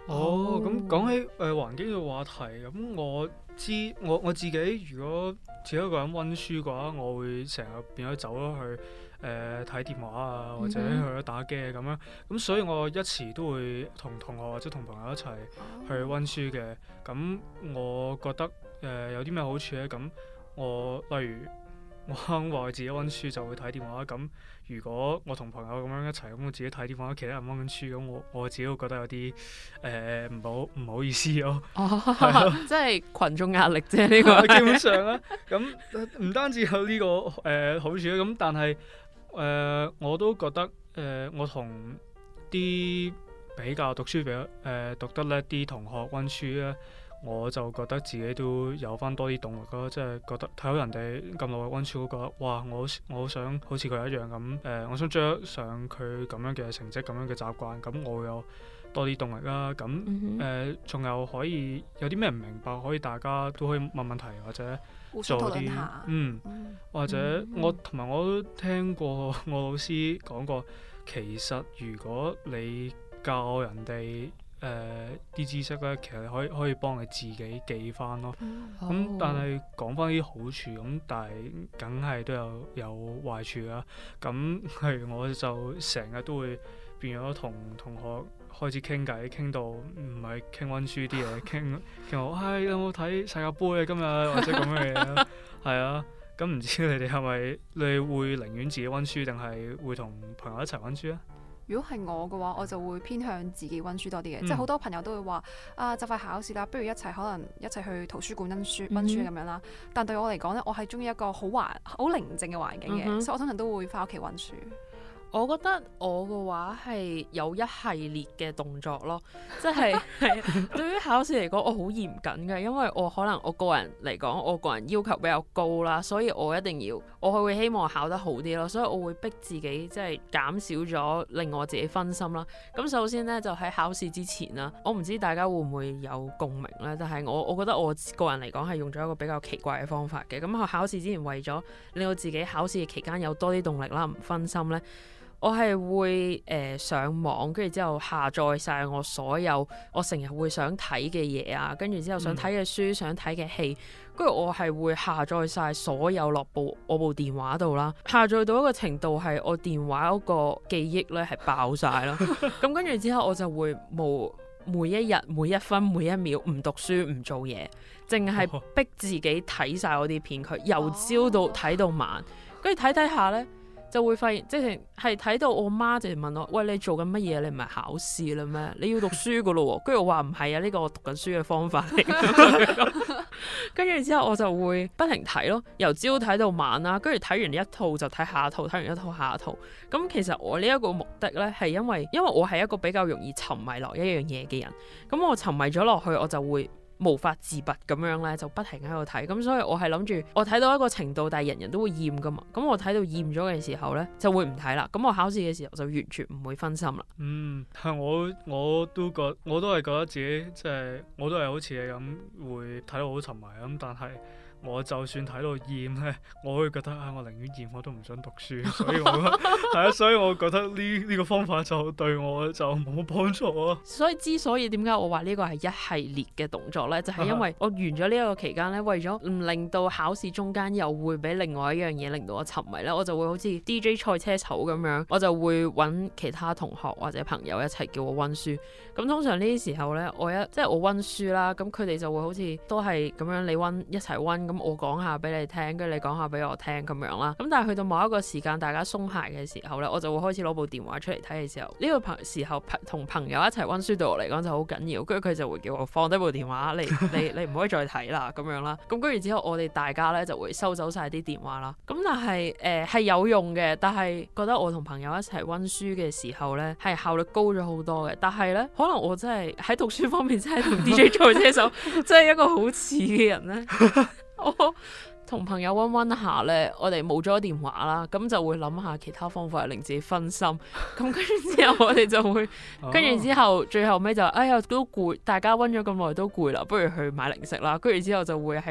哦，咁講起誒、呃、環境嘅話題，咁我知我我自己如果自己一個人溫書嘅話，我會成日變咗走咗去誒睇、呃、電話啊，或者去咗打機咁樣。咁所以我一遲都會同同學或者同朋友一齊去溫書嘅。咁我覺得誒、呃、有啲咩好處咧？咁我例如我話我自己溫書就會睇電話，咁如果我同朋友咁樣一齊，咁我自己睇電話，其他人溫緊書，咁我我自己會覺得有啲誒唔好唔好意思咯。 哦，即係群眾壓力啫，呢個基本上啦。咁唔單止有呢、這個誒、呃、好處咧，咁但係誒、呃、我都覺得誒、呃、我同啲比較讀書比較誒、呃、讀得叻啲同學溫書咧。我就覺得自己都有翻多啲動力咯，即係覺得睇到人哋咁努力溫書，我覺得哇！我我好想好似佢一樣咁誒、呃，我想追上佢咁樣嘅成績、咁樣嘅習慣，咁我會有多啲動力啦。咁誒，仲、呃、有可以有啲咩唔明白，可以大家都可以問問題或者做啲嗯，嗯，或者我同埋我都聽過我老師講過，其實如果你教人哋誒啲、呃、知識咧，其實可以可以幫你自己記翻咯。咁、嗯哦、但係講翻啲好處，咁但係梗係都有有壞處啦。咁係我就成日都會變咗同同學開始傾偈，傾到唔係傾溫書啲嘢，傾傾我唉有冇睇世界盃啊今日或者咁嘅嘢。係啊，咁唔知你哋係咪你會寧願自己溫書，定係會同朋友一齊溫書啊？ 如果係我嘅話，我就會偏向自己溫書多啲嘅， 嗯、 即係好多朋友都會話啊，就快考試啦，不如一齊可能一齊去圖書館溫書溫書咁樣啦。但對我嚟講咧，我係中意一個好環好寧靜嘅環境嘅，嗯、所以我通常都會翻屋企溫書。 我覺得我嘅話係有一系列嘅動作咯，即係係對於考試嚟講，我好嚴謹嘅，因為我可能我個人嚟講，我個人要求比較高啦，所以我一定要，我係會希望考得好啲咯，所以我會逼自己即係減少咗令我自己分心啦。咁首先呢，就喺考試之前啦，我唔知大家會唔會有共鳴呢？但係我我覺得我個人嚟講係用咗一個比較奇怪嘅方法嘅。咁我考試之前為咗令我自己考試嘅期間有多啲動力啦，唔分心呢。我係會誒、呃、上網，跟住之後下載晒我所有我成日會想睇嘅嘢啊，跟住之後想睇嘅書、嗯、想睇嘅戲，跟住我係會下載晒所有落部我部電話度啦，下載到一個程度係我電話嗰個記憶咧係爆晒啦。咁跟住之後我就會冇每一日每一分每一秒唔讀書唔做嘢，淨係逼自己睇晒我啲片，佢由朝到睇到晚，跟住睇睇下咧。就會發現，即係係睇到我媽就問我：喂，你做緊乜嘢？你唔係考試啦咩？你要讀書噶咯喎！跟住我話唔係啊，呢個我讀緊書嘅方法嚟。跟住之後我就會不停睇咯，由朝睇到晚啦。跟住睇完一套就睇下一套，睇完一套下一套。咁其實我呢一個目的咧，係因為因為我係一個比較容易沉迷落一樣嘢嘅人。咁我沉迷咗落去，我就會無法自拔咁樣咧，就不停喺度睇，咁所以我係諗住我睇到一個程度，但係人人都會厭噶嘛，咁我睇到厭咗嘅時候咧，就會唔睇啦。咁我考試嘅時候就完全唔會分心啦。嗯， 係我我都覺我都係覺得自己即係我都係好似你咁會睇到好沉迷咁，但係我就算睇到厭咧，我會覺得啊，我寧願厭我都唔想讀書，所以我係啊，所以我覺得呢呢個方法就對我就冇幫助啊。 所以之所以點解我話呢個係一系列嘅動作咧，就係因為我完咗呢一個期間咧，為咗唔令到考試中間又會俾另外一樣嘢令到我沉迷咧，我就會好似 D J 賽車手咁樣，我就會揾其他同學或者朋友一齊叫我溫書。咁通常呢啲時候咧，我一即係我溫書啦，咁佢哋就會好似都係咁樣，你溫一齊溫。咁我講下俾你聽，跟住你講下俾我聽咁樣啦。咁但係去到某一個時間，大家鬆懈嘅時候咧，我就會開始攞部電話出嚟睇嘅時候，呢、這個朋時候同朋友一齊溫書對我嚟講就好緊要。跟住佢就會叫我放低部電話，你你你唔可以再睇啦咁樣啦。咁跟住之後，我哋大家咧就會收走晒啲電話啦。咁但係誒係有用嘅，但係覺得我同朋友一齊溫書嘅時候咧係效率高咗好多嘅。但係咧可能我真係喺讀書方面真係同 D J 賽車手真係一個好似嘅人咧。我同朋友溫溫下咧，我哋冇咗電話啦，咁就會諗下其他方法令自己分心。咁跟住之後，我哋就會跟住之後，最後尾就哎呀都攰，大家溫咗咁耐都攰啦，不如去買零食啦。跟住之後就會喺個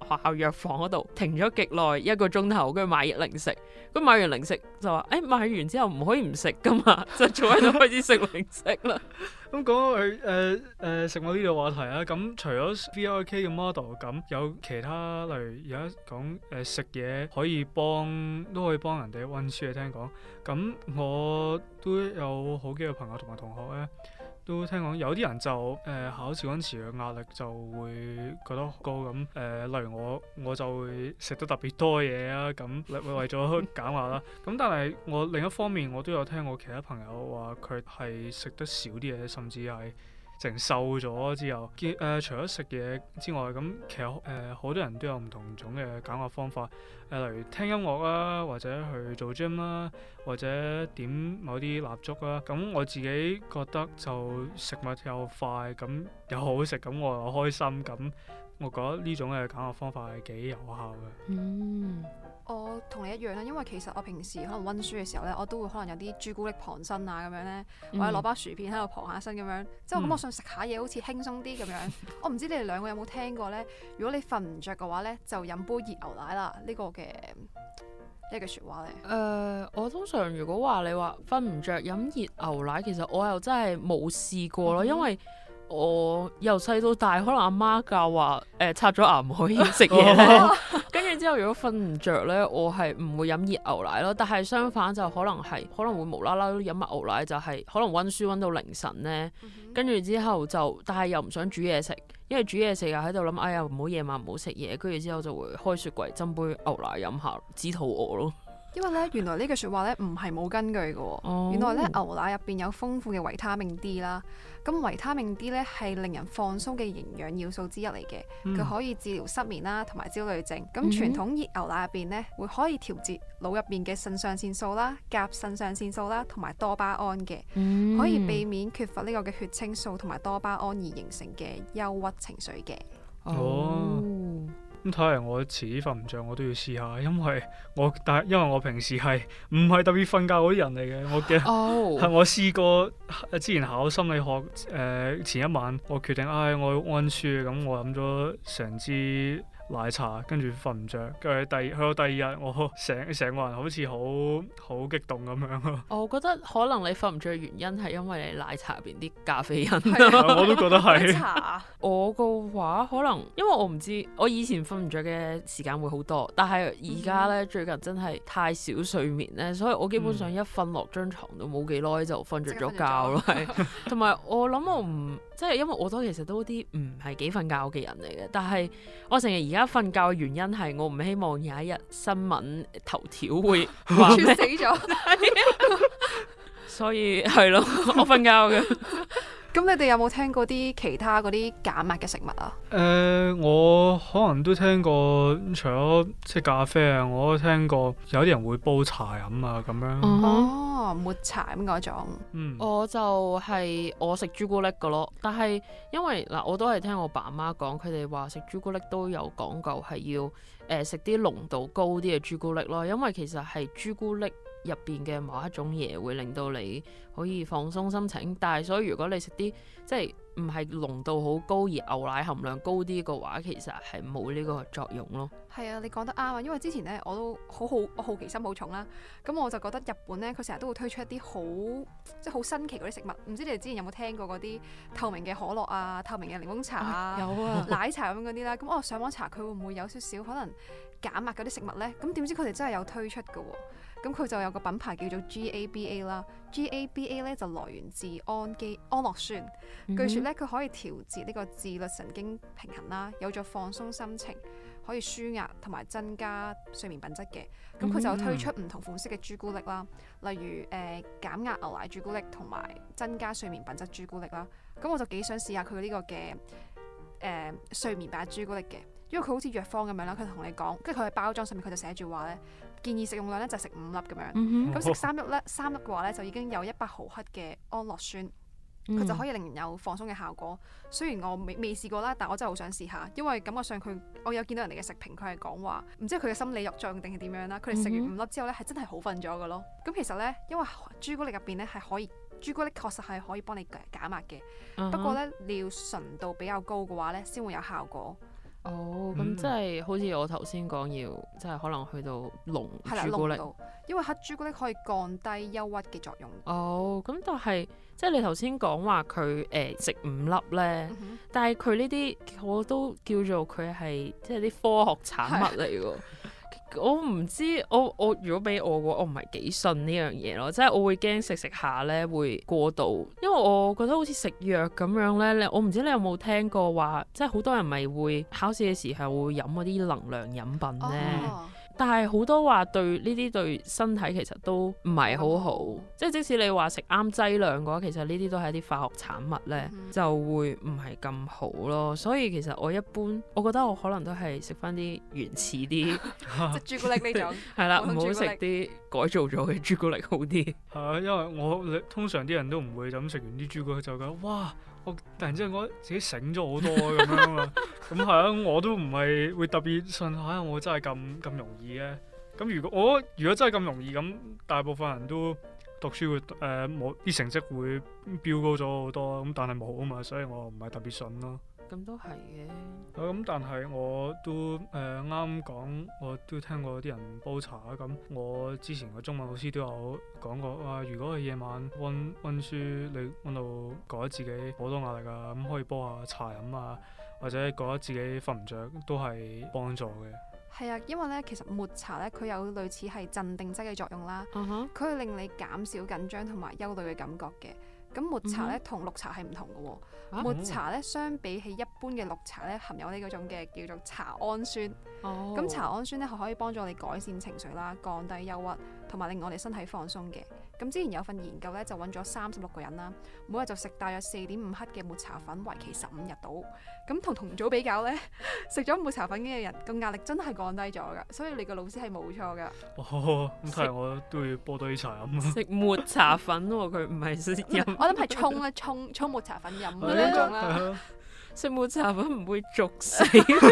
學校藥房嗰度停咗極耐一個鐘頭，跟住買零食。咁買完零食就話：誒、欸、買完之後唔可以唔食噶嘛，就坐喺度開始食零食啦。 咁講佢誒誒食物呢個話題啊，咁除咗 V R K 嘅 model，咁有其他例如而家講誒食嘢可以幫都可以幫人哋溫書嘅，聽講。咁我都有好幾個朋友同埋同學咧。都聽講有啲人就誒、呃、考試嗰陣時嘅壓力就會覺得高咁誒、呃，例如我我就會食得特別多嘢啊，咁為為咗減壓啦。咁但係我另一方面我都有聽過其他朋友話佢係食得少啲嘢，甚至係成瘦咗之後，見誒、呃、除咗食嘢之外，咁其實誒好、呃、多人都有唔同種嘅減壓方法，誒、呃、例如聽音樂啦，或者去做 gym 啦，或者點某啲蠟燭啦。咁我自己覺得就食物又快，咁又好食，咁我又開心，咁我覺得呢種嘅減壓方法係幾有效嘅。 嗯。我同你一樣啦，因為其實我平時可能溫書嘅時候咧，我都會可能有啲朱古力傍身啊咁樣咧，或者攞包薯片喺度傍下身咁樣，即係我咁我想食下嘢，好似輕鬆啲咁樣。我唔知你哋兩個有冇聽過咧？如果你瞓唔着嘅話咧，就飲杯熱牛奶啦。呢、這個嘅一句説話咧。誒、 呃，我通常如果話你話瞓唔着飲熱牛奶，其實我又真係冇試過咯，嗯、因為我由細到大，可能阿媽教話誒、呃、刷咗牙唔可以食嘢咧，跟住之後如果瞓唔着咧，我係唔會飲熱牛奶咯。但係相反就可能係可能會無啦啦飲埋牛奶，就係可能溫書溫到凌晨咧，跟住、嗯、哼之後就但係又唔想煮嘢食，因為煮嘢食又喺度諗，哎呀唔好夜晚唔好食嘢，跟住之後就會開雪櫃斟杯牛奶飲下，止肚餓咯。 因為咧，原來呢句説話咧唔係冇根據嘅喎。哦、原來咧牛奶入邊有豐富嘅維他命 D 啦。咁維他命 D 咧係令人放鬆嘅營養要素之一嚟嘅，佢、嗯、可以治療失眠啦同埋焦慮症。咁傳統熱牛奶入邊咧會可以調節腦入邊嘅腎上腺素啦、甲腎上腺素啦同埋多巴胺嘅，嗯、可以避免缺乏呢個嘅血清素同埋多巴胺而形成嘅憂鬱情緒嘅。 哦。咁睇嚟我遲啲瞓唔着，我都要試下，因為我但係因為我平時係唔係特別瞓覺嗰啲人嚟嘅，我嘅係、oh. 我試過之前考心理學誒、呃、前一晚，我決定唉、哎、我要溫書，咁我飲咗成支奶茶，跟住瞓唔着，跟住第去到第二日，我成成個人好似好好激動咁樣咯。 我覺得可能你瞓唔着嘅原因係因為你奶茶入邊啲咖啡因。 我都覺得係。 我嘅話可能因為我唔知，我以前瞓唔着嘅時間會好多，但係而家咧最近真係太少睡眠咧，所以我基本上一瞓落張床都冇幾耐就瞓着咗覺咯。係，同埋我諗我唔即係因為我都其實都啲唔係幾瞓覺嘅人嚟嘅，但係我成日而家瞓覺嘅原因係我唔希望有一日新聞頭條會話咩死咗，所以係咯，我瞓覺嘅。 咁你哋有冇聽過啲其他嗰啲減壓嘅食物啊？ 誒、呃，我可能都聽過，除咗即係咖啡啊，我都聽過有啲人會煲茶飲啊咁樣。 Uh-huh. 哦，抹茶咁嗰種。 嗯。我就係我食朱古力㗎咯，但係因為嗱，我都係聽我爸媽講，佢哋話食朱古力都有講究係要誒食啲濃度高啲嘅朱古力咯，因為其實係朱古力入邊嘅某一種嘢會令到你可以放鬆心情，但係所以如果你食啲即係唔係濃度好高而牛奶含量高啲嘅話，其實係冇呢個作用咯。 係啊，你講得啱啊，因為之前咧我都好好我好奇心好重啦，咁我就覺得日本咧佢成日都會推出一啲好即係好新奇嗰啲食物，唔知你哋之前有冇聽過嗰啲透明嘅可樂啊、透明嘅檸檬茶啊、 啊有啊奶茶咁嗰啲啦，咁我上網查佢會唔會有少少可能減壓嗰啲食物咧？咁點知佢哋真係有推出㗎喎。咁佢就有個品牌叫做 G A B A 啦 ，G A B A 咧就來源自氨基安樂酸，嗯、哼據說咧佢可以調節呢個自律神經平衡啦，有助放鬆心情，可以舒壓同埋增加睡眠品質嘅。咁佢就推出唔同款式嘅朱古力啦，例如誒、呃、減壓牛奶朱古力同埋增加睡眠品質朱古力啦。咁我就幾想試下佢呢個嘅誒、呃、睡眠版朱古力嘅，因為佢好似藥方咁樣啦，佢同你講，跟住佢喺包裝上面佢就寫住話咧。建議食用量咧就食五粒咁樣，咁食、嗯、三粒咧，三粒嘅話咧就已經有一百毫克嘅安樂酸，佢、嗯、就可以令人有放鬆嘅效果。雖然我未未試過啦，但我真係好想試下，因為感覺上佢我有見到人哋嘅食評，佢係講話唔知佢嘅心理作用定係點樣啦。佢哋食完五粒之後咧係真係好瞓咗嘅咯。咁其實咧，因為朱古力入邊咧係可以，朱古力確實係可以幫你減壓嘅，嗯、不過咧你要純度比較高嘅話咧先會有效果。 哦，咁即係好似我頭先講要，即係可能去到濃朱古力， 因為黑朱古力可以降低憂鬱嘅作用。 哦，咁但係即係你頭先講話佢誒食五粒咧，嗯、哼但係佢呢啲我都叫做佢係即係啲科學產物嚟㗎。我唔知，我我如果俾我嘅話，我唔係幾信呢樣嘢咯，即係我會驚食食下咧會過度，因為我覺得好似食藥咁樣咧。我唔知你有冇聽過話，即係好多人咪會考試嘅時候會飲嗰啲能量飲品咧。哦，但係好多話對呢啲對身體其實都唔係好好，哦、即係即使你話食啱劑量嘅話，其實呢啲都係一啲化學產物咧，嗯、就會唔係咁好咯。所以其實我一般，我覺得我可能都係食翻啲原始啲， 即係朱古力呢種，係啦， 唔好食啲改造咗嘅朱古力好啲。 係啊，因為我通常啲人都唔會咁食完啲朱古力就覺得哇！我突然之間覺得自己醒咗好多咁樣啊嘛，咁係啊，我都唔係會特別信嚇，我真係咁咁容易嘅。咁如果我如果真係咁容易咁，大部分人都讀書會誒冇啲成績會飆高咗好多，咁但係冇啊嘛，所以我唔係特別信咯。 咁都係嘅。 咁、嗯、但係我都誒啱啱講，我都聽過啲人煲茶啊。咁我之前個中文老師都有講過，話、啊、如果係夜晚温温書，你温到覺得自己好多壓力啊，咁可以煲下茶飲啊，或者覺得自己瞓唔着，都係幫助嘅。 係啊，因為咧其實抹茶咧佢有類似係鎮定劑嘅作用啦，佢、uh huh. 會令你減少緊張同埋憂慮嘅感覺嘅。咁抹茶咧同綠茶係唔同嘅喎，啊、抹茶咧相比起一般嘅綠茶咧，含有呢嗰種嘅叫做茶氨酸。咁、oh. 茶氨酸咧係可以幫助你改善情緒啦，降低憂鬱，同埋令我哋身體放鬆嘅。咁之前有份研究咧就揾咗三十六個人啦，每日就食大約四點五克嘅抹茶粉，為期十五日到。咁同同組比較咧，食咗抹茶粉嘅人個壓力真係降低咗㗎，所以你個老師係冇錯㗎。 哦，咁睇嚟我都要煲多啲茶飲。食抹茶粉喎、哦，佢唔係食飲。 我諗係沖咧，沖沖抹茶粉飲嗰種啦。 食抹茶粉唔會逐死。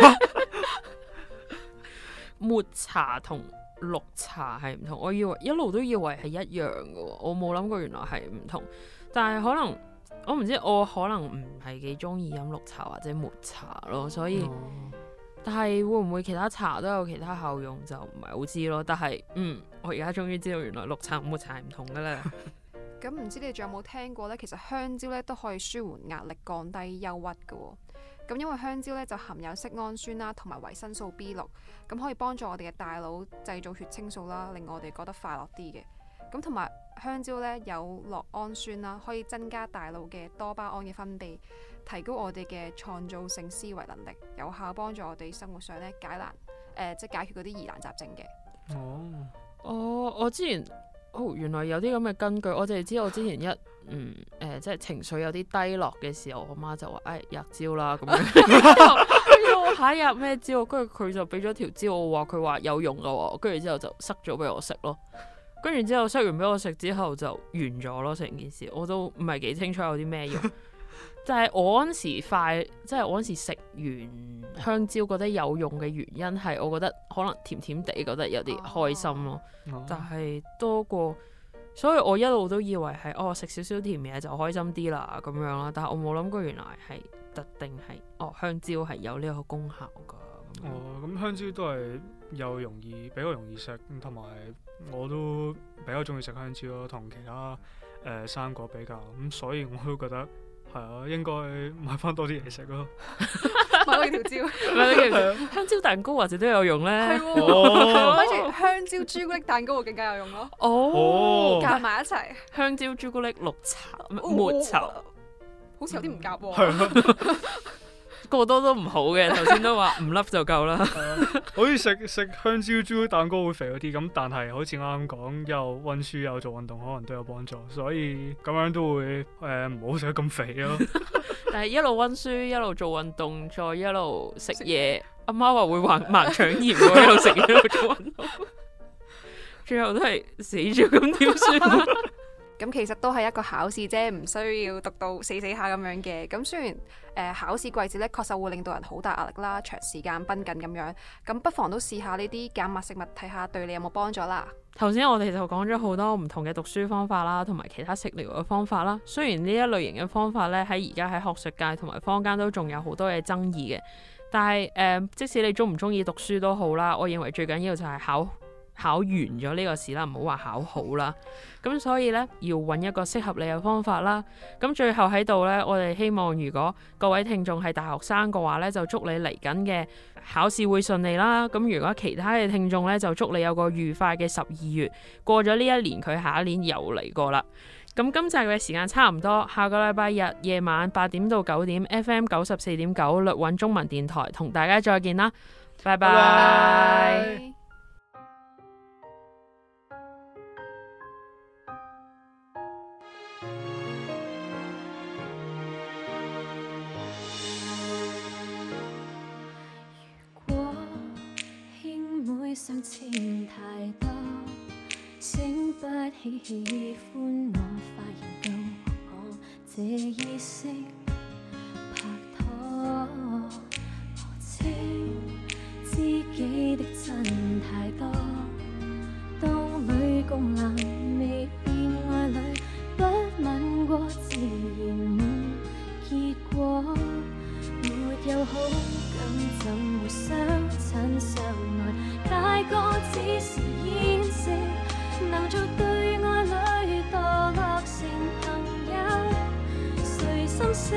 抹茶同綠茶係唔同，我以為一路都以為係一樣嘅喎，我冇諗過原來係唔同。但係可能我唔知，我可能唔係幾中意飲綠茶或者抹茶咯，所以。哦、但係會唔會其他茶都有其他效用就唔係好知咯。但係嗯，我而家終於知道原來綠茶同抹茶係唔同嘅啦。 咁唔知你哋仲有冇聽過呢？其實香蕉咧都可以舒緩壓力、降低憂鬱嘅喎。咁因為香蕉咧就含有色胺酸啦，同埋維生素 B 六，咁可以幫助我哋嘅大腦製造血清素啦，令我哋覺得快樂啲嘅。咁同埋香蕉咧有酪氨酸啦，可以增加大腦嘅多巴胺嘅分泌，提高我哋嘅創造性思維能力，有效幫助我哋生活上咧解難，誒、呃、即係解決嗰啲疑難雜症嘅。 哦，哦，我之前。哦，原來有啲咁嘅根據，我淨係知我之前一嗯誒、呃，即係情緒有啲低落嘅時候，我媽就話：誒、哎，吔蕉啦咁樣。跟住我下一日咩蕉？跟住佢就俾咗條蕉，我話佢話有用噶喎。跟住之後就塞咗俾我食咯。跟住之後塞完俾我食之後就完咗咯，成件事我都唔係幾清楚有啲咩用。但係我嗰陣時快，即係我嗰陣時食完香蕉覺得有用嘅原因係，我覺得可能甜甜地覺得有啲開心咯。哦、但係多過，所以我一路都以為係哦食少少甜嘢就開心啲啦咁樣啦。但係我冇諗過原來係特定係哦香蕉係有呢個功效噶。 哦，咁香蕉都係又容易比較容易食，同埋我都比較中意食香蕉咯，同其他誒、呃、生果比較咁，所以我都覺得。係啊，應該買翻多啲嘢食咯。 買多條蕉， 買多條香蕉蛋糕或者都有用咧。 係喎，跟住香蕉朱古力蛋糕會更加有用咯。 哦， 夾埋一齊。 香蕉朱古力綠茶抹茶， 好似有啲唔夾喎。 過多都唔好嘅，頭先都話唔粒就夠啦。 好似食食香蕉朱古力蛋糕會肥嗰啲咁，但係好似啱啱講又溫書又做運動，可能都有幫助，所以咁樣都會誒唔好食得咁肥咯。 但係一路溫書一路做運動，再一路食嘢，阿媽話會患盲腸炎喎，一路食嘢一路做運動，最後都係死咗咁點算？ 咁其實都係一個考試啫，唔需要讀到死死下咁樣嘅。咁雖然誒、呃、考試季節咧，確實會令到人好大壓力啦，長時間繃緊咁樣。咁不妨都試下呢啲減壓食物，睇下對你有冇幫助啦。 頭先我哋就講咗好多唔同嘅讀書方法啦，同埋其他食療嘅方法啦。雖然呢一類型嘅方法咧喺而家喺學術界同埋坊間都仲有好多嘅爭議嘅， 但係誒、呃，即使你中唔中意讀書都好啦，我認為最緊要就係考考完咗呢個試啦，唔好話考好啦。咁所以呢，要揾一個適合你嘅方法啦。咁最後喺度呢，我哋希望如果各位聽眾係大學生嘅話呢，就祝你嚟緊嘅考試會順利啦。咁如果其他嘅聽眾呢，就祝你有個愉快嘅十二月。過咗呢一年，佢下一年又嚟過啦。咁今集嘅時間差唔多，下個禮拜日夜晚八點到九點 F M 九十四點九律韻中文電台同大家再見啦，拜拜。拜拜。 如果兄妹相欠太多，醒不起喜歡我，發現到我這意識拍拖，我知知己的真太多，當女共男未變愛侶，不吻過自然沒結果，沒有好感怎會相親相愛，大個只是掩飾，能做對愛侶墮落成朋友，誰心死？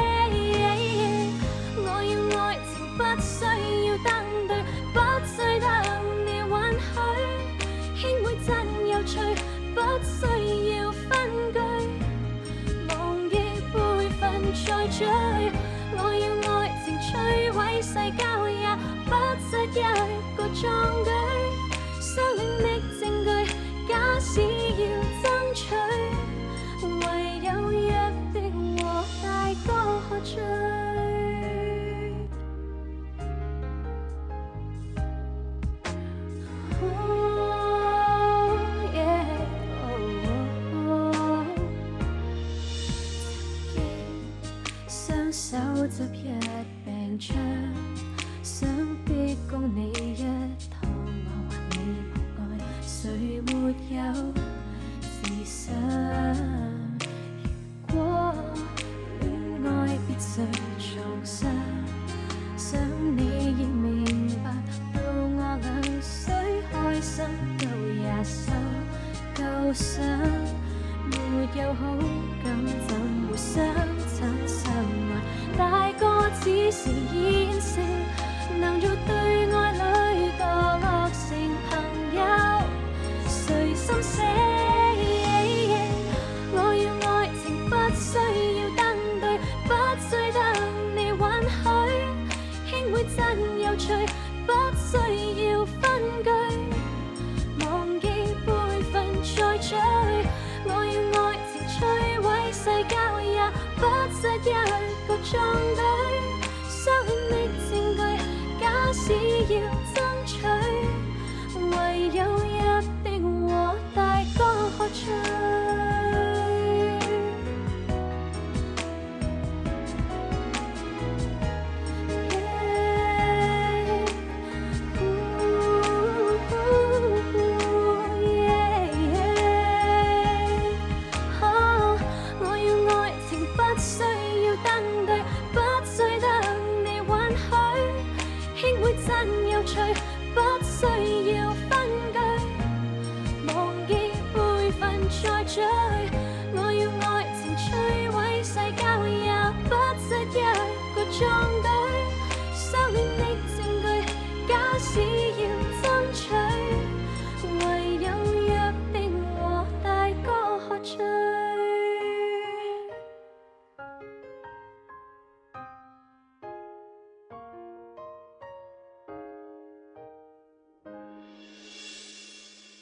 我要愛情不需要登對，不需得你允許，兄妹真有趣，不需要分居，忘記輩分再追。我要愛情摧毀世交，也不失一個壯舉，相戀的證據假使要爭取，唯有約定和大哥喝醉。Oh, yeah, oh, oh. 曾經雙手執一柄槍，想逼供你一趟，我還你無愛，誰沒有自信？如果戀愛必須創傷，想你亦明白到我倆雖開心都也受夠傷，沒有好感怎會相親相愛，大個只是掩飾，能做對愛侶墮落成朋友，誰心死？我要愛情不需要登對，不需得你允許，兄妹真有趣，不需要分居，忘記輩分再追。我要愛情摧毀世交，也不失一個壯舉，相戀的證據假使要爭取，唯有約定和大哥喝醉。不需要分居，忘記輩分再追。